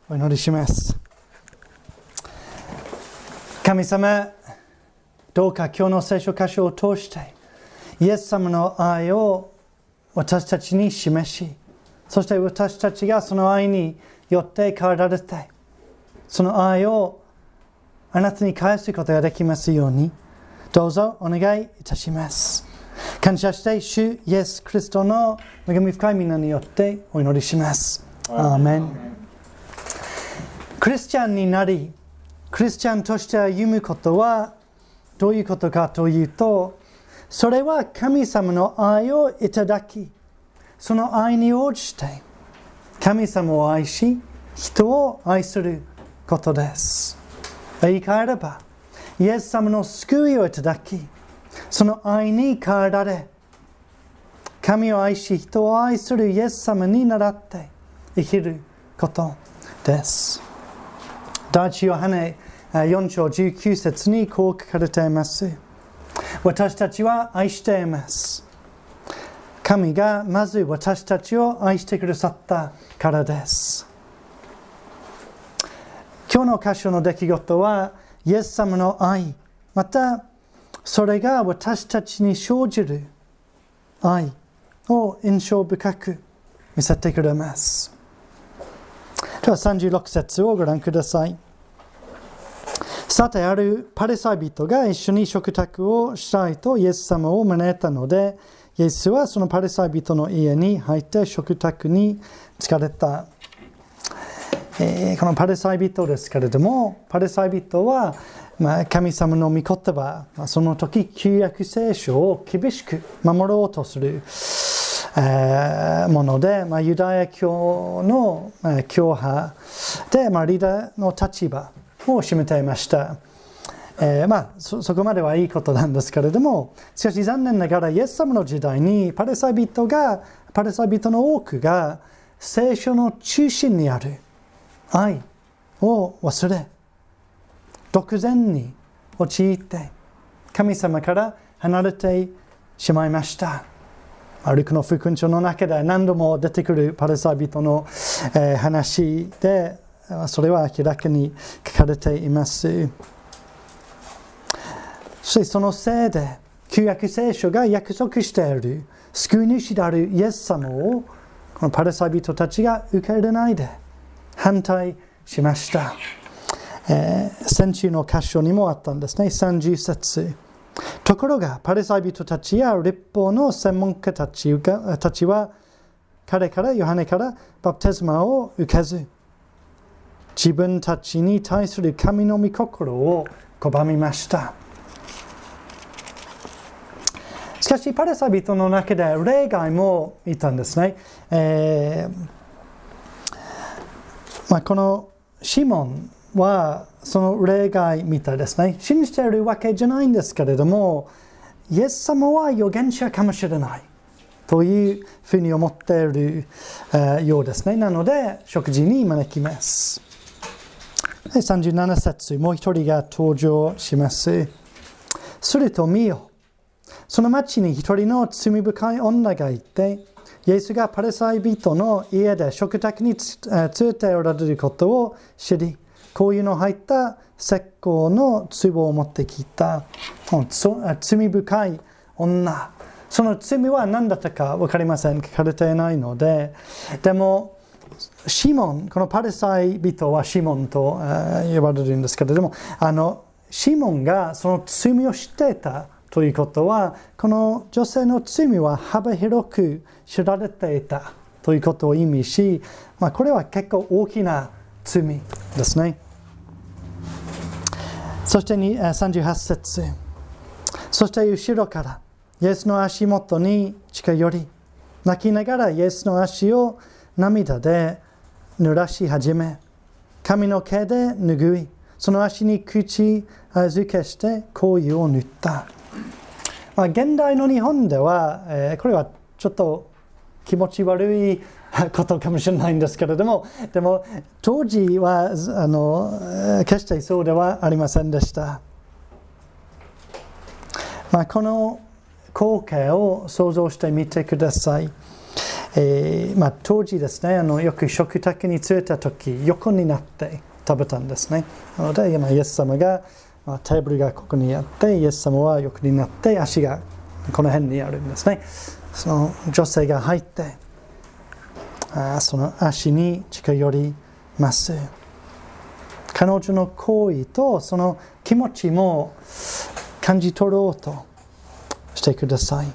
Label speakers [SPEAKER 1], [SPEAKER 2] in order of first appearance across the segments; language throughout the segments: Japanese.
[SPEAKER 1] お祈りします。神様、どうか今日の聖書箇所を通してイエス様の愛を私たちに示し、そして私たちがその愛によって変えられて、その愛をあなたに返すことができますように、どうぞお願いいたします。感謝して主イエス・キリストの恵み深い皆によってお祈りします。アーメン。クリスチャンになり、クリスチャンとして歩むことはどういうことかというと、それは神様の愛をいただき、その愛に応じて神様を愛し、人を愛することです。言い換えれば、イエス様の救いをいただき、その愛に変えられ、神を愛し、人を愛するイエス様に倣って生きることです。第一ヨハネ4章19節にこう書かれています。私たちは愛しています。神がまず私たちを愛してくださったからです。今日の箇所の出来事は、イエス様の愛、またそれが私たちに生じる愛を印象深く見せてくれます。では36節をご覧ください。さて、あるパリサイ人が一緒に食卓をしたいとイエス様を招いたので、イエスはそのパリサイ人の家に入って食卓に疲れた。このパリサイ人ですけれども、パリサイ人は、神様の御言葉、その時旧約聖書を厳しく守ろうとするもので、ユダヤ教の教派で、リーダーの立場を占めていました。そこまではいいことなんですけれども、しかし残念ながらイエス様の時代にパリサイ人の多くが聖書の中心にある愛を忘れ、独善に陥って神様から離れてしまいました。ルカの福音書の中で何度も出てくるパリサイ人の話で、それは明らかに書かれています。そしてそのせいで旧約聖書が約束している救い主であるイエス様をこのパリサイ人たちが受け入れないで反対しました。先週の箇所にもあったんですね。30節。ところがパリサイ人たちや律法の専門家たちは彼からヨハネからバプテスマを受けず、自分たちに対する神の御心を拒みました。しかしパリサイ人の中で例外もいたんですね。このシモンはその例外みたいですね。信じているわけじゃないんですけれども、イエス様は預言者かもしれないというふうに思っているようですね。なので食事に招きます。37節、もう一人が登場します。すると見よ、その町に一人の罪深い女がいて、イエスがパリサイ人の家で食卓に連れておられることを知り、香油の入った石膏の壺を持ってきた。罪深い女。その罪は何だったか分かりません。書かれていないので。でも、シモン、このパリサイ人はシモンと呼ばれるんですけれども、シモンがその罪を知っていたということは、この女性の罪は幅広く知られていたということを意味し、これは結構大きな罪ですね。そして38節。そして後ろからイエスの足元に近寄り、泣きながらイエスの足を涙で濡らし始め、髪の毛で拭い、その足に口づけして香油を塗った。現代の日本では、これはちょっと気持ち悪いことかもしれないんですけれども、でも当時は決してそうではありませんでした。この光景を想像してみてください。 当時ですね、よく食卓に連れた時、横になって食べたんですね。なので、イエス様が、テーブルがここにあって、イエス様は横になって、足がこの辺にあるんですね。その女性が入って、その足に近寄ります。彼女の行為とその気持ちも感じ取ろうとしてください。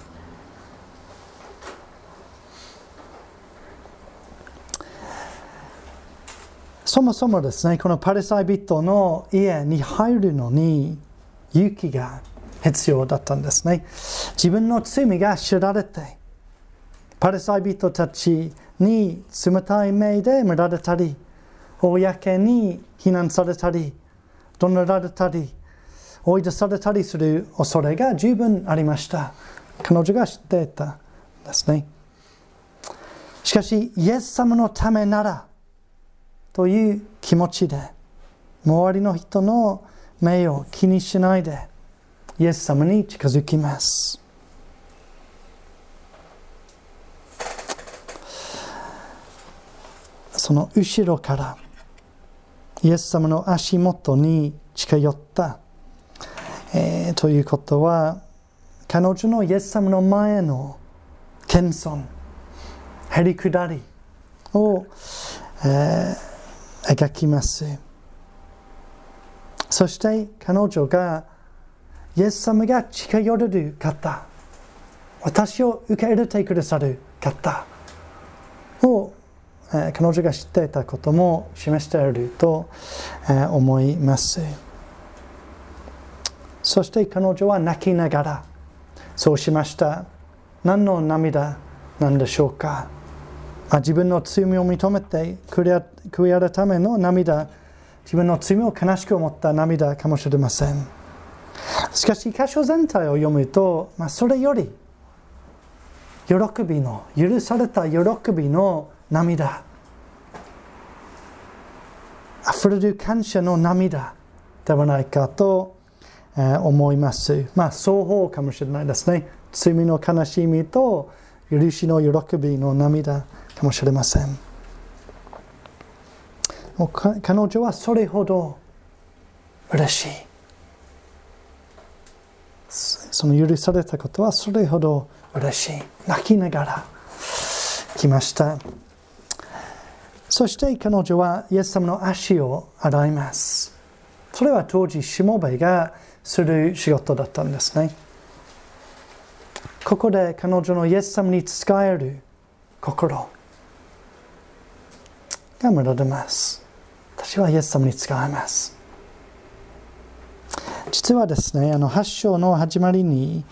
[SPEAKER 1] そもそもですね、このパリサイ人の家に入るのに勇気が必要だったんですね。自分の罪が知られて、パリサイ人たちに冷たい目で見られたり、公に非難されたり、怒鳴られたり、追い出されたりする恐れが十分ありました。彼女が知っていたんですね。しかし、イエス様のためなら、という気持ちで、周りの人の目を気にしないで、イエス様に近づきます。その後ろから、イエス様の足元に近寄った、ということは、彼女のイエス様の前の謙遜、へりくだりを、描きます。そして彼女がイエス様が近寄れる方、私を受け入れてくださる方を、彼女が知っていたことも示していると、思います。そして彼女は泣きながらそうしました。何の涙なんでしょうか。自分の罪を認めて悔い改めの涙、自分の罪を悲しく思った涙かもしれません。しかし、箇所全体を読むと、それより喜びの、許された喜びの涙、あふれる感謝の涙ではないかと思います。双方かもしれないですね。罪の悲しみと許しの喜びの涙かもしれません。彼女はそれほど嬉しい。その許されたことはそれほど嬉しい。泣きながら来ました。そして彼女はイエス様の足を洗います。それは当時しもべがする仕事だったんですね。ここで彼女のイエス様に仕える心が見られます。私はイエス様に仕えます。実はですね、8章の始まりに、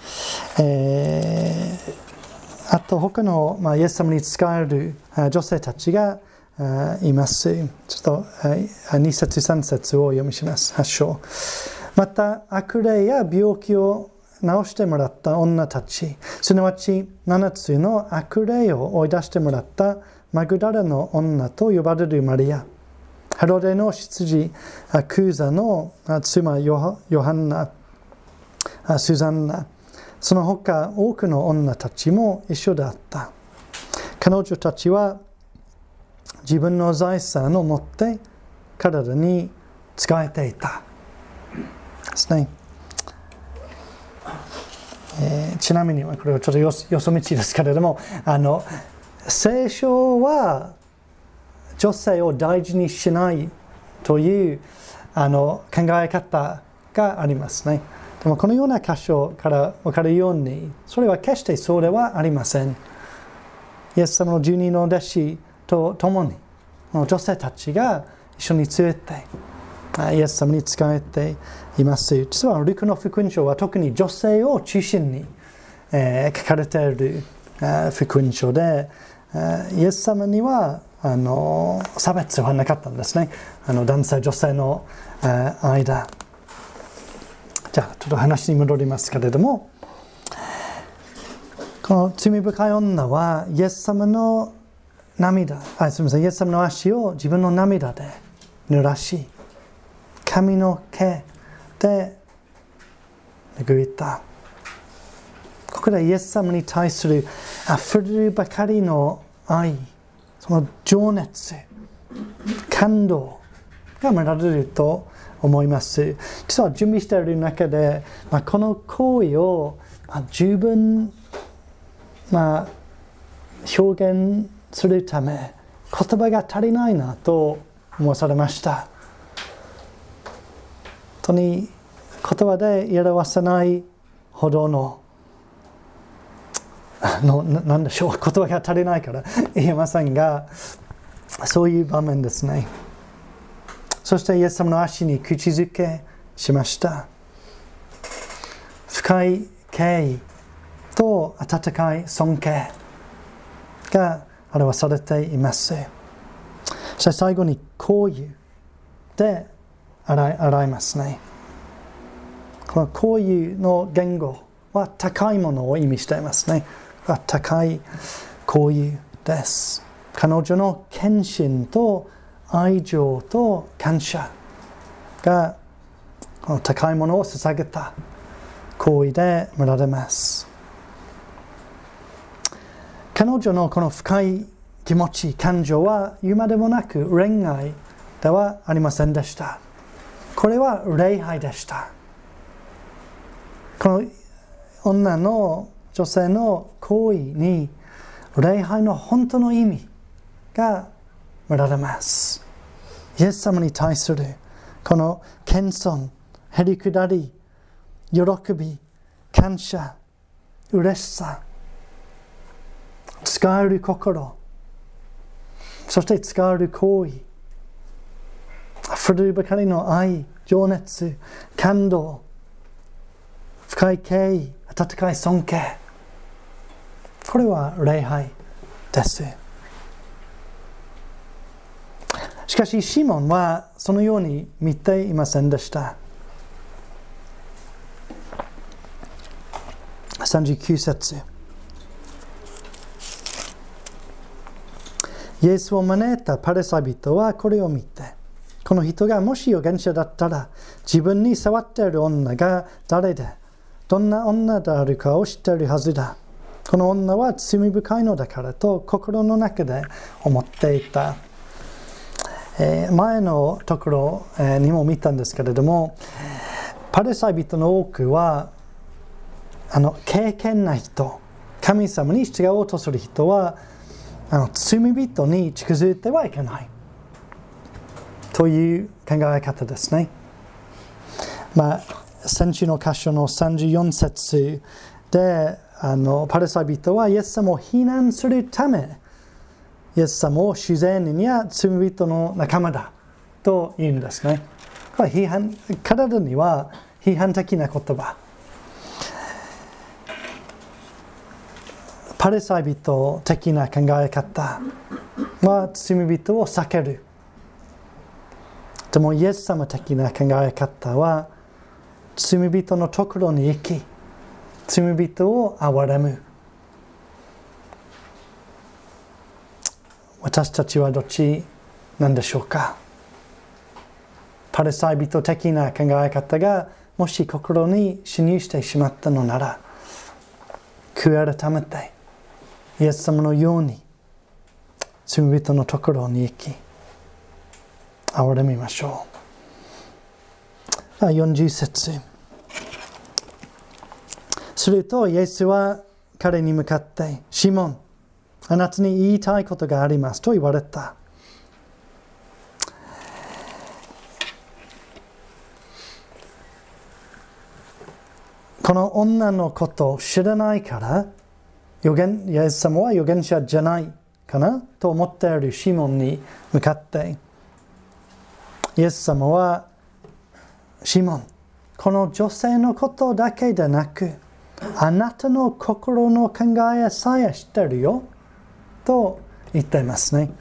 [SPEAKER 1] あと他の、イエス様に仕える女性たちがいます。ちょっと2節3節を読みします。8章。また悪霊や病気を治してもらった女たち、すなわち7つの悪霊を追い出してもらったマグダラの女と呼ばれるマリア、ヘロデの執事クーザの妻ヨハンナ、スザンナ、その他多くの女たちも一緒であった。彼女たちは自分の財産を持って体に使えていたですね。ちなみにこれはちょっとよそ道ですけれども、聖書は女性を大事にしないという考え方がありますね。でもこのような箇所から分かるように、それは決してそうではありません。イエス様の12の弟子と共に女性たちが一緒に連れてイエス様に仕えています。実はルカの福音書は特に女性を中心に書かれている福音書で、イエス様には差別はなかったんですね。男性女性の間。じゃあちょっと話に戻りますけれども、この罪深い女はイエス様の涙、すみません、イエス様の足を自分の涙で濡らし、髪の毛で拭いた。ここでイエス様に対するあふれるばかりの愛、その情熱、感動が見られると思います。実は準備している中で、この行為を、十分、表現するため言葉が足りないなと思わされました。本当に言葉で表せないほどの何でしょう、言葉が足りないから言えませんが、そういう場面ですね。そしてイエス様の足に口づけしました。深い敬意と温かい尊敬が表されています。そして最後に香油で洗いますね。この香油の言語は高いものを意味していますね。高い香油です。彼女の献身と愛情と感謝がこの高いものを捧げた行為で見られます。彼女のこの深い気持ち、感情は言うまでもなく恋愛ではありませんでした。これは礼拝でした。この女性の行為に礼拝の本当の意味が見られます。イエス様に対するこの謙遜、へりくだり、喜び、感謝、嬉しさ、使える心、そして使える行為、溢れるばかりの愛、情熱、感動、深い敬意、温かい尊敬、これは礼拝です。しかしシモンはそのように見ていませんでした。39節。イエスを招いたパリサイ人はこれを見て、この人がもし預言者だったら、自分に触っている女が誰で、どんな女であるかを知っているはずだ。この女は罪深いのだからと心の中で思っていた。前のところにも見たんですけれども、パリサイ人の多くは敬虔な人、神様に従おうとする人は罪人に近づいてはいけないという考え方ですね。先週の箇所の34節でパリサイ人はイエス様を非難するため、イエス様を主税人や罪人の仲間だと言うんですね。彼らには批判的な言葉。パリサイ人的な考え方は罪人を避ける。でもイエス様的な考え方は罪人のところに行き、罪人を憐れむ。私たちはどっちなんでしょうか。パリサイ人的な考え方がもし心に侵入してしまったのなら、悔い改めてイエス様のように罪人のところに行き憐れみましょう。40節。するとイエスは彼に向かって、シモン、あなたに言いたいことがありますと言われた。この女のことを知らないからイエス様は預言者じゃないかなと思っているシモンに向かってイエス様は、シモン、この女性のことだけでなくあなたの心の考えさえ知ってるよと言っていますね。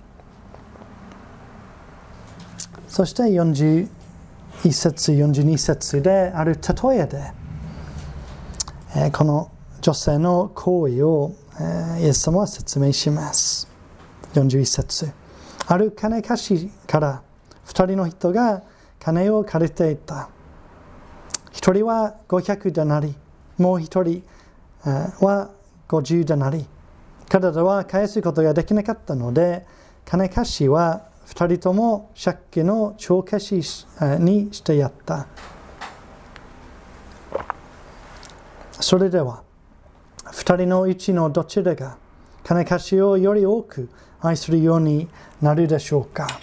[SPEAKER 1] そして41節42節である例えでこの女性の行為をイエス様は説明します。41節。ある金貸しから2人の人が金を借りていた。1人は500デナリ、もう1人は50デナリ彼らは返すことができなかったので、金貸しは2人とも借金の帳消しにしてやった。それでは、2人のうちのどちらが金貸しをより多く愛するようになるでしょうか。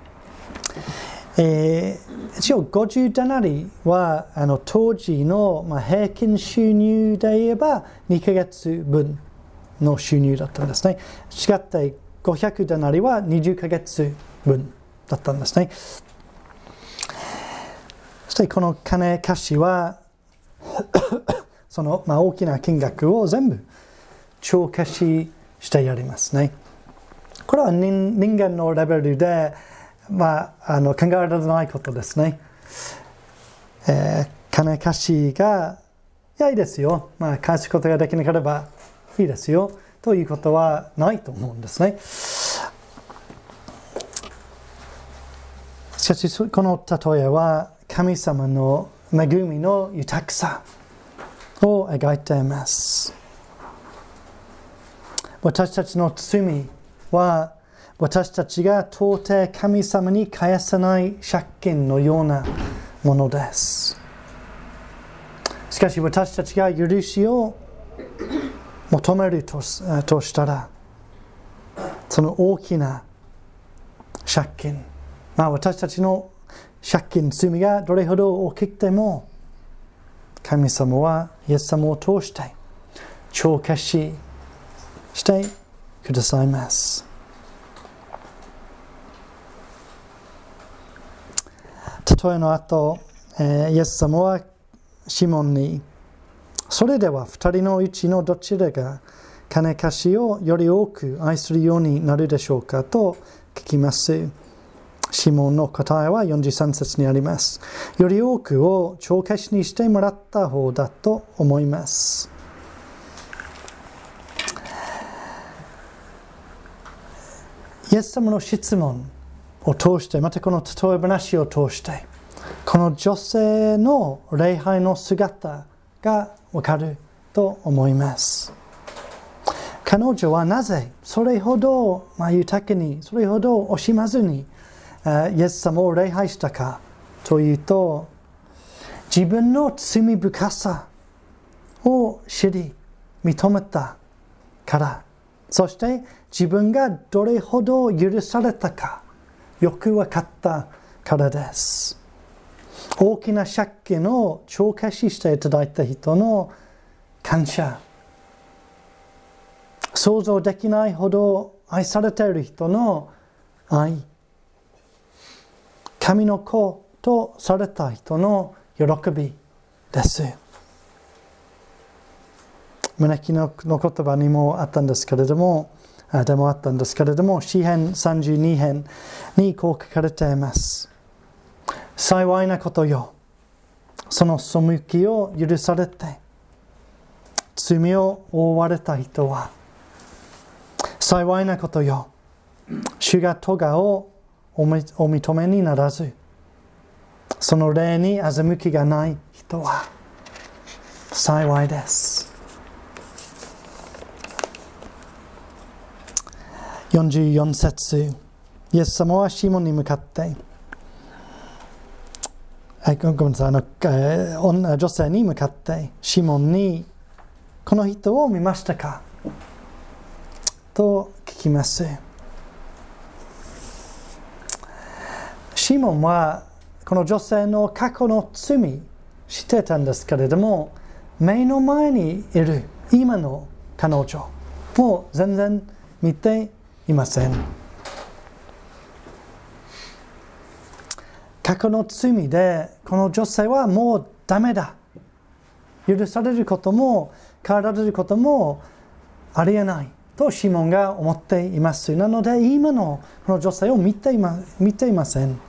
[SPEAKER 1] 一応50デナリは当時の平均収入で言えば2ヶ月分の収入だったんですね。違って500デナリは20ヶ月分だったんですね。そしてこの金貸しはその大きな金額を全部帳消ししてやりますね。これは人間のレベルで考えられないことですね。金貸しがいいですよ、返すことができなければいいですよということはないと思うんですね。しかしこの例えは神様の恵みの豊かさを描いています。私たちの罪は私たちが到底神様に返せない借金のようなものです。しかし私たちが許しを求めるとしたら、その大きな借金、私たちの借金、罪がどれほど大きくても、神様はイエス様を通して帳消ししてくださいます。例えの後、イエス様はシモンに、それでは2人のうちのどちらが金貸しをより多く愛するようになるでしょうかと聞きます。シモンの答えは43節にあります。より多くを帳消しにしてもらった方だと思います。イエス様の質問を通して、またこの例え話を通して、この女性の礼拝の姿がわかると思います。彼女はなぜそれほど豊かに、それほど惜しまずにイエス様を礼拝したかというと、自分の罪深さを知り認めたから、そして自分がどれほど許されたかよく分かったからです。大きな借金を帳消ししていただいた人の感謝、想像できないほど愛されている人の愛、神の子とされた人の喜びです。招きの言葉にもあったんですけれども、詩編32編にこう書かれています。幸いなことよ、その背きを許されて罪を負われた人は。幸いなことよ、主が咎をお認めにならず、その霊に欺きがない人は幸いです。44節、イエス様はシモンに向かって、女性に向かって、シモンに、この人を見ましたかと聞きます。シモンはこの女性の過去の罪知ってたんですけれども、目の前にいる今の彼女を全然見ていません。過去の罪でこの女性はもうダメだ、許されることも変えられることもありえないとシモンが思っています。なので今のこの女性を見ていません。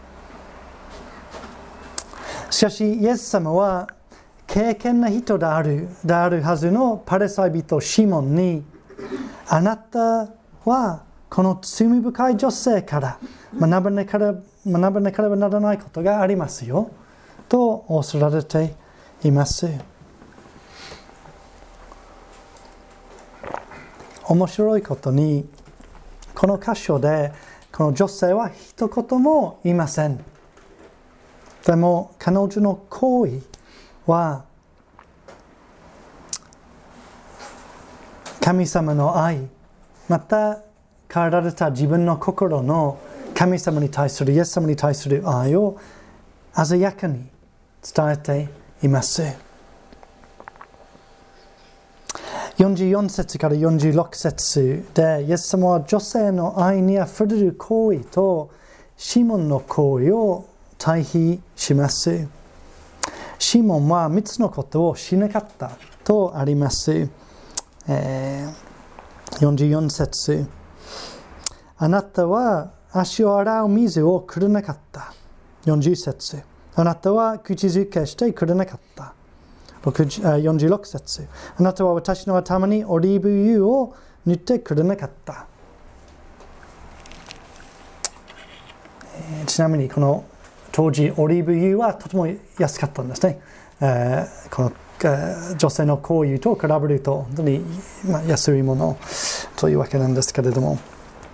[SPEAKER 1] しかしイエス様は敬虔な人であるはずのパリサイ人シモンに、あなたはこの罪深い女性から学ばなければならないことがありますよと仰せられています。 面白いことに、この箇所でこの女性は一言も言いません。でも彼女の行為は神様の愛、また変えられた自分の心の神様に対する、イエス様に対する愛を鮮やかに伝えています。44節から46節で、イエス様は女性の愛にあふれる行為とシモンの行為を対比します。シモンは3つのことをしなかったとあります。44節、あなたは足を洗う水をくれなかった。40節、あなたは口づけしてくれなかった。46節、あなたは私の頭にオリーブ油を塗ってくれなかった。ちなみにこの当時オリーブ油はとても安かったんですね。この女性の行為と比べると本当に安いものというわけなんですけれども、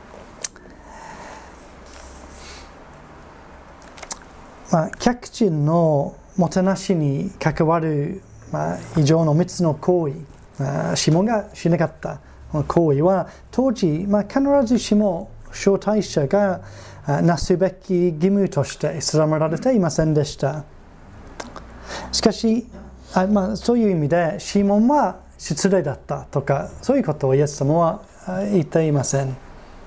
[SPEAKER 1] 客人のもてなしに関わる以上の3つの行為、シモンがしなかった行為は当時、必ずしも招待者がなすべき義務として定められていませんでした。しかし、そういう意味でシモンは失礼だったとか、そういうことをイエス様は言っていません。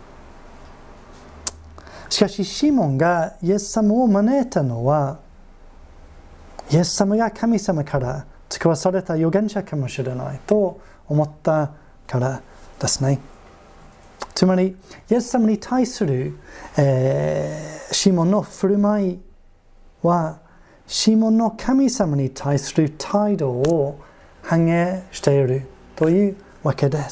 [SPEAKER 1] しかしシモンがイエス様を招いたのは、イエス様が神様から使わされた預言者かもしれないと思ったからですね。つまりイエス様に対する、シモンの振る舞いはシモンの神様に対する態度を反映しているというわけです。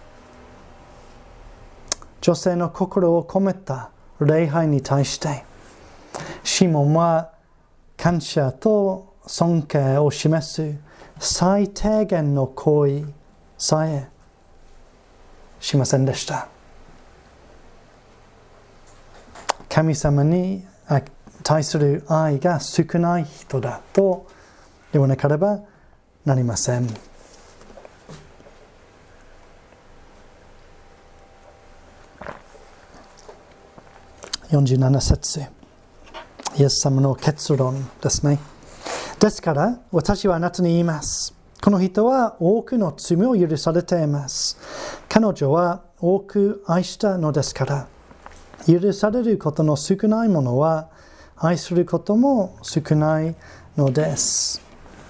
[SPEAKER 1] 女性の心を込めた礼拝に対してシモンは感謝と尊敬を示す最低限の行為さえしませんでした。神様に対する愛が少ない人だと言わなければなりません。47節、イエス様の結論ですね。ですから私はあなたに言います。この人は多くの罪を許されています。彼女は多く愛したのですから。許されることの少ないものは愛することも少ないのです。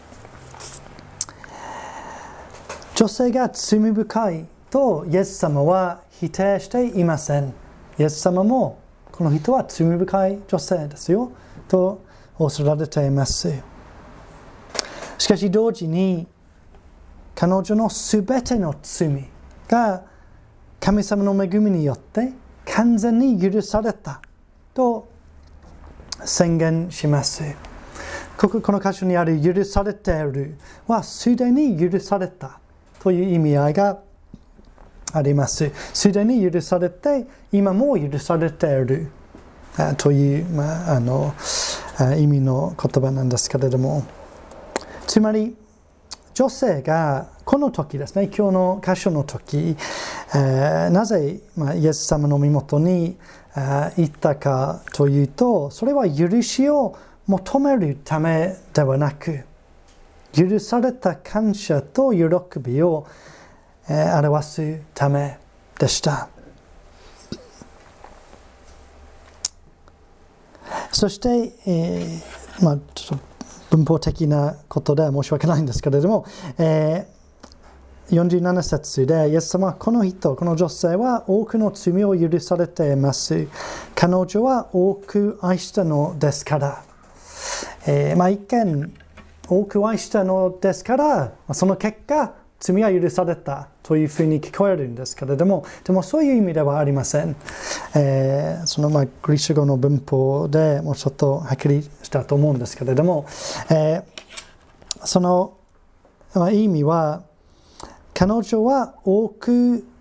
[SPEAKER 1] 女性が罪深いとイエス様は否定していません。イエス様もこの人は罪深い女性ですよとおっしゃられています。しかし同時に彼女のすべての罪が神様の恵みによって完全に許されたと宣言します。この箇所にある許されているはすでに許されたという意味合いがあります。すでに許されて今も許されているという、意味の言葉なんですけれども、つまり女性がこの時ですね、今日の箇所の時、なぜ、イエス様の身元に行ったかというと、それは許しを求めるためではなく、許された感謝と喜びを表すためでした。そして、ちょっと文法的なことで申し訳ないんですけれども、47節でイエス様はこの女性は多くの罪を許されています。彼女は多く愛したのですから、一見多く愛したのですからその結果罪は許されたというふうに聞こえるんですけれども、でもそういう意味ではありません。そのグリシュ語の文法でもうちょっとはっきりしたと思うんですけれども、その意味は彼女は多く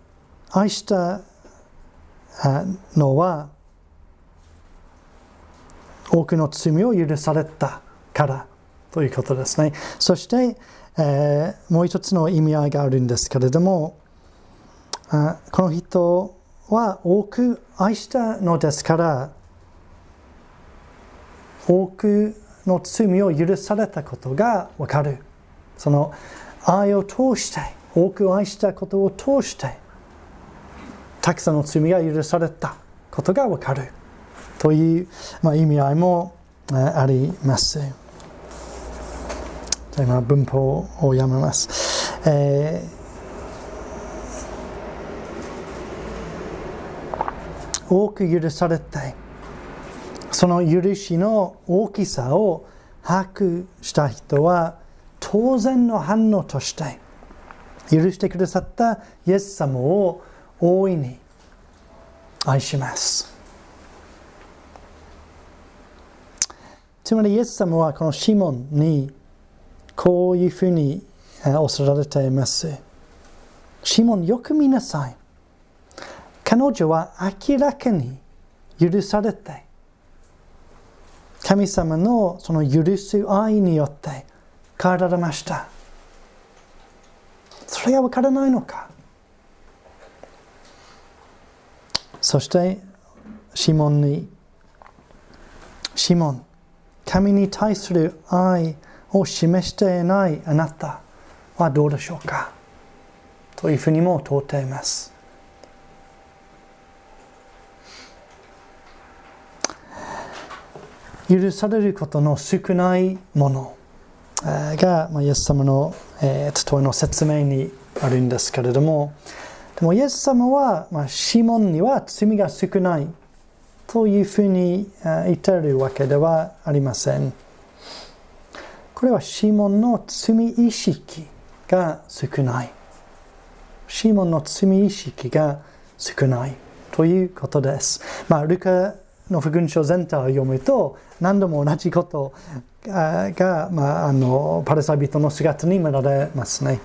[SPEAKER 1] 愛したのは多くの罪を許されたからということですね。そして、もう一つの意味合いがあるんですけれども、この人は多く愛したのですから多くの罪を許されたことがわかる。その愛を通して多く愛したことを通してたくさんの罪が許されたことがわかるという、意味合いもあります。じゃあ今文法をやめます。多く許されてその許しの大きさを把握した人は当然の反応として許してくださったイエス様を大いに愛します。つまりイエス様はこのシモンにこういうふうにおっしゃられています。シモン、よく見なさい。彼女は明らかに許されて神様のその許す愛によって変えられました。それがわからないのか。そしてシモンに、シモン、神に対する愛を示していないあなたはどうでしょうかというふうにも問うています。許されることの少ないものが、イエス様の例えの説明にあるんですけれども、でもイエス様は、シモンには罪が少ないというふうに言っているわけではありません。これはシモンの罪意識が少ない。シモンの罪意識が少ないということです。ルカの福音書全体を読むと何度も同じことが、パリサイ人の姿に見られますね。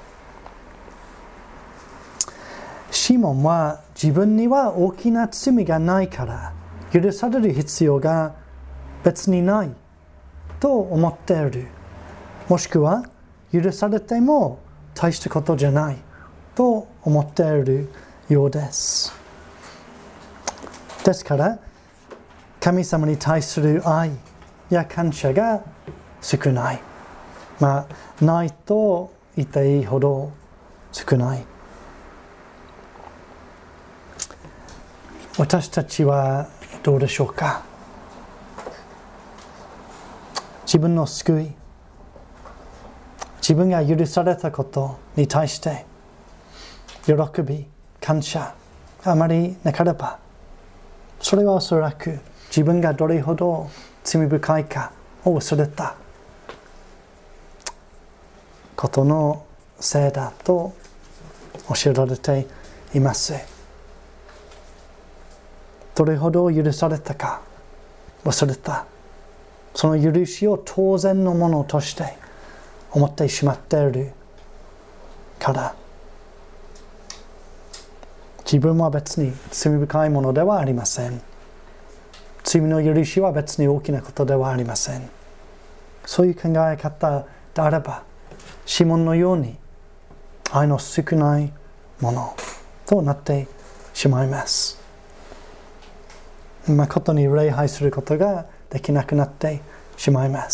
[SPEAKER 1] シモンは自分には大きな罪がないから許される必要が別にないと思っている。もしくは許されても大したことじゃないと思っているようです。ですから神様に対する愛や感謝が少ない。ないと言っていいほど少ない。私たちはどうでしょうか。自分の救い、自分が許されたことに対して喜び、感謝あまりなければ、それはおそらく自分がどれほど罪深いかを忘れたことのせいだと教えられています。どれほど許されたか忘れた。その許しを当然のものとして思ってしまっているから、自分は別に罪深いものではありません。罪の許しは別に大きなことではありません。そういう考え方であれば、シモンのように愛の少ないものとなってしまいます。誠に礼拝することができなくなってしまいます。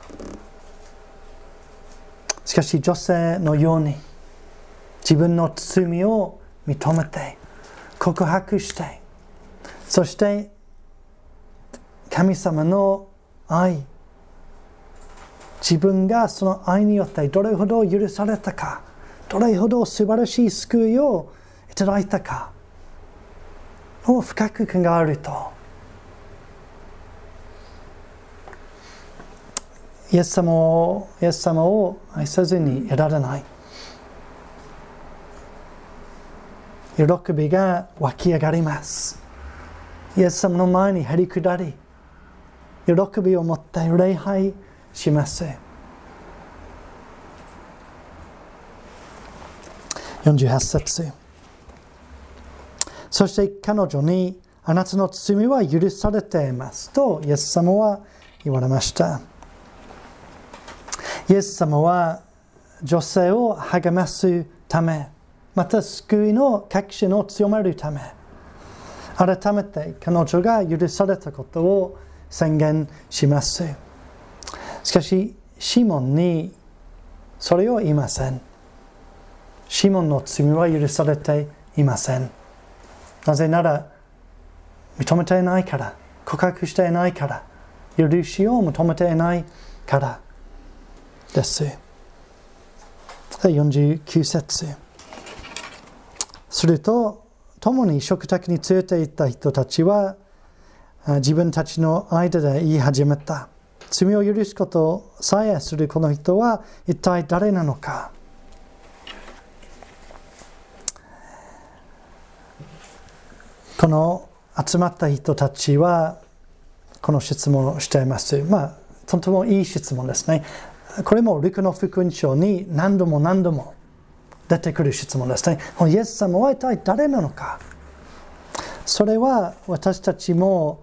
[SPEAKER 1] しかし女性のように自分の罪を認めて告白して、そして神様の愛、自分がその愛によってどれほど許されたか、どれほど素晴らしい救いをいただいたかを深く考えると、イエス様を愛せずにいられない。喜びが湧き上がります。イエス様の前にへり下り、喜びを持って礼拝します。48節。 そして彼女に、あなたの罪は許されていますとイエス様は言われました。イエス様は女性を励ますため、また救いの確信を強めるため、改めて彼女が許されたことを宣言します。しかし、シモンにそれを言いません。シモンの罪は許されていません。なぜなら、認めていないから、告白していないから、許しを求めていないからです。49節。すると、共に食卓に連れて行った人たちは、自分たちの間で言い始めた。罪を許すことさえするこの人は一体誰なのか。この集まった人たちはこの質問をしています。とてもいい質問ですね。これもルカの福音書に何度も出てくる質問ですね。イエス様は一体誰なのか。それは私たちも、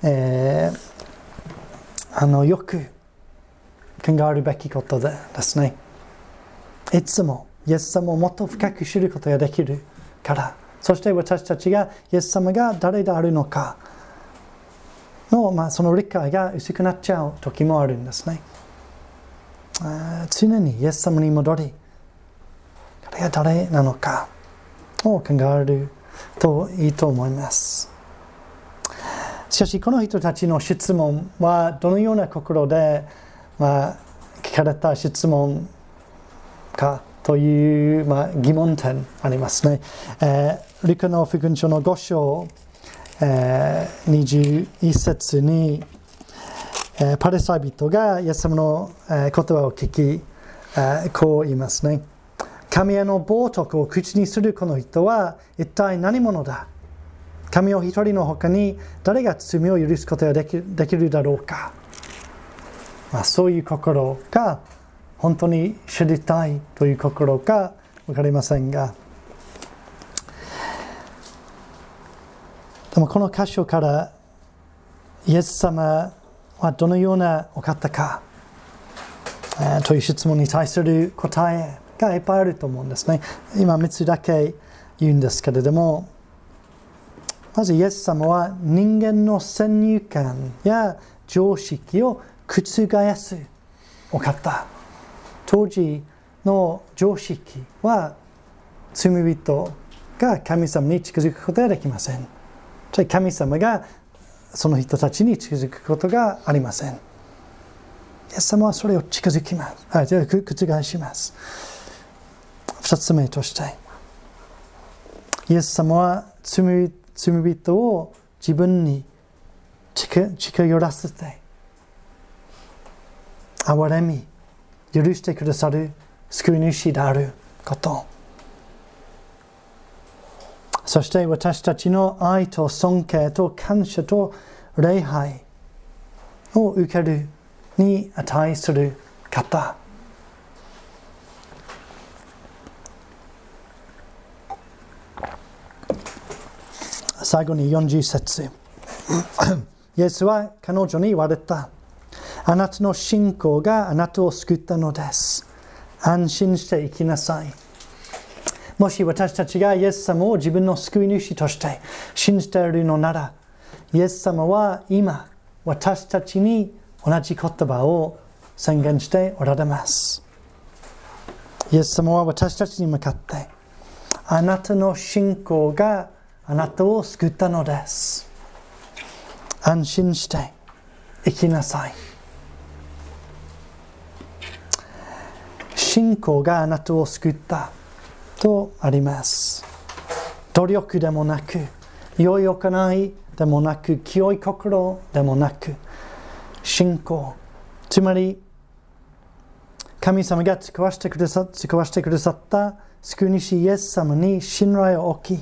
[SPEAKER 1] よく考えるべきことですね。いつもイエス様をもっと深く知ることができるから、そして私たちがイエス様が誰であるのかの、その理解が薄くなっちゃう時もあるんですね。常にイエス様に戻り、彼が誰なのかを考えるといいと思います。しかしこの人たちの質問はどのような心で、聞かれた質問かという、疑問点ありますね。ルカの福音書の5章、21節に、パリサイ人がイエス様の言葉を聞き、こう言いますね。神への冒涜を口にするこの人は一体何者だ。神を一人の他に誰が罪を許すことができるだろうか。そういう心が本当に知りたいという心か分かりませんが、でもこの箇所からイエス様はどのようなお方か、という質問に対する答えがいっぱいあると思うんですね。今3つだけ言うんですけれども、まずイエス様は人間の先入観や常識を覆すお方。当時の常識は罪人が神様に近づくことができません。神様がその人たちに近づくことがありません。イエス様はそれを覆します。2つ目として、イエス様は罪人を自分に近寄らせて、憐れみ、許してくださる救い主であること。そして私たちの愛と尊敬と感謝と礼拝を受けるに値する方。最後に40節。イエスは彼女に言われた。あなたの信仰があなたを救ったのです。安心して生きなさい。もし私たちがイエス様を自分の救い主として信じているのなら、イエス様は今私たちに同じ言葉を宣言しておられます。イエス様は私たちに向かって、あなたの信仰があなたを救ったのです。安心して生きなさい。信仰があなたを救ったとあります。努力でもなく、良い行いでもなく、清い心でもなく、信仰、つまり神様が使わせてくださった救い主イエス様に信頼を置き、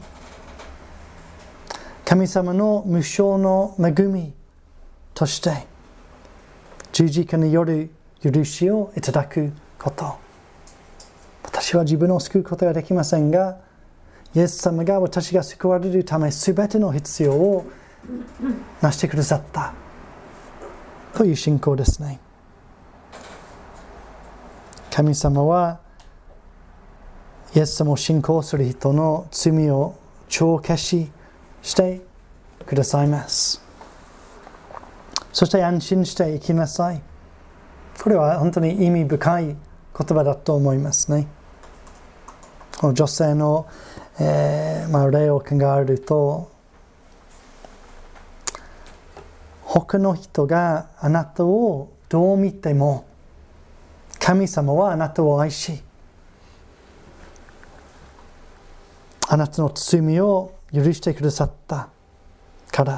[SPEAKER 1] 神様の無償の恵みとして十字架による許しをいただくこと。私は自分を救うことができませんが、 イエス様が私が救われるためすべての必要をなしてくださったという信仰ですね。神様はイエス様を信仰する人の罪を帳消ししてくださいます。そして安心して生きなさい。これは本当に意味深い言葉だと思いますね。女性の、例を考えると、他の人があなたをどう見ても神様はあなたを愛し、あなたの罪を許してくださったから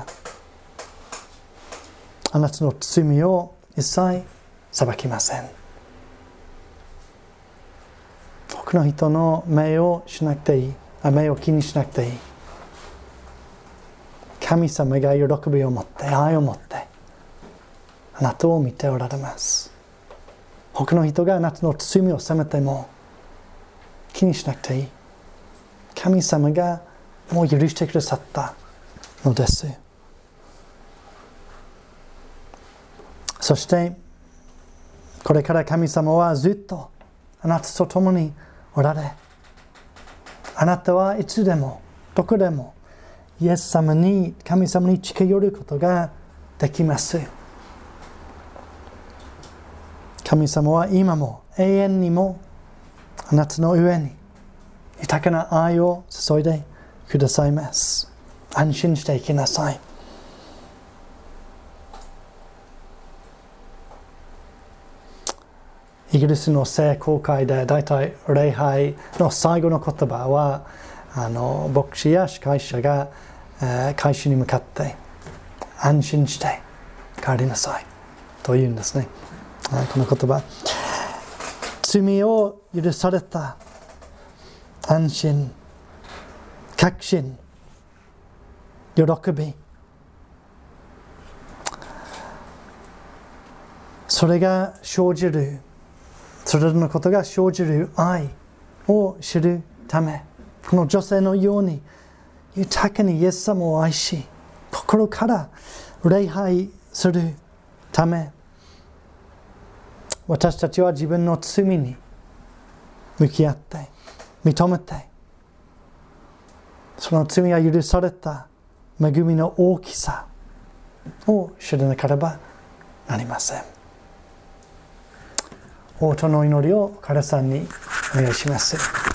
[SPEAKER 1] あなたの罪を一切裁きません。他の人の目をしなくていい、目を気にしなくていい。神様が喜びを持って愛を持ってあなたを見ておられます。他の人があなたの罪を責めても気にしなくていい。神様がもう許してくださったのです。そしてこれから神様はずっとあなたと共におられ、あなたはいつでもどこでもイエス様に、神様に近寄ることができます。神様は今も永遠にもあなたの上に豊かな愛を注いでくださいます。安心して生きなさい。イギリスの聖公会でだいたい礼拝の最後の言葉は牧師や司会者が会衆に向かって安心して帰りなさいと言うんですね。この言葉、罪を許された安心、確信、喜び、それが生じる、それらのことが生じる愛を知るため、この女性のように豊かにイエス様を愛し、心から礼拝するため、私たちは自分の罪に向き合って認めて、その罪が許された恵みの大きさを知らなければなりません。応答の祈りを彼さんにお願いします。